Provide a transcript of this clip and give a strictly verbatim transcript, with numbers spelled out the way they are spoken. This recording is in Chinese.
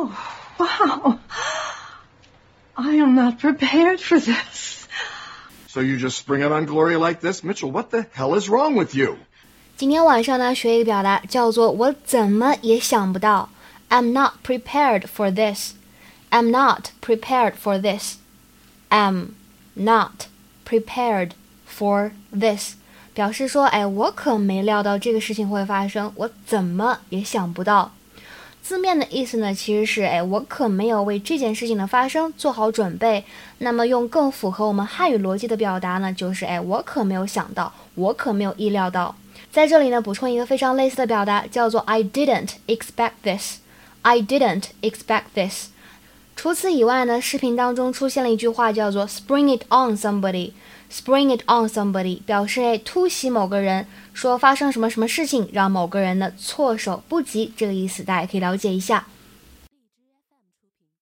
Oh, wow. I am not prepared for this. So you just spring it on Gloria like this? Mitchell, what the hell is wrong with you? 今天晚上呢，学一个表达叫做我怎么也想不到。I'm not prepared for this. I'm not prepared for this. I'm not prepared for this. 表示说，哎，我可没料到这个事情会发生，我怎么也想不到。字面的意思呢，其实是，哎，我可没有为这件事情的发生做好准备。那么用更符合我们汉语逻辑的表达呢，就是，哎，我可没有想到，我可没有意料到。在这里呢，补充一个非常类似的表达，叫做 I didn't expect this. I didn't expect this. 除此以外呢，视频当中出现了一句话叫做 spring it on somebody.Spring it on somebody 表示突袭某个人，说发生什么什么事情让某个人呢措手不及，这个意思大家可以了解一下。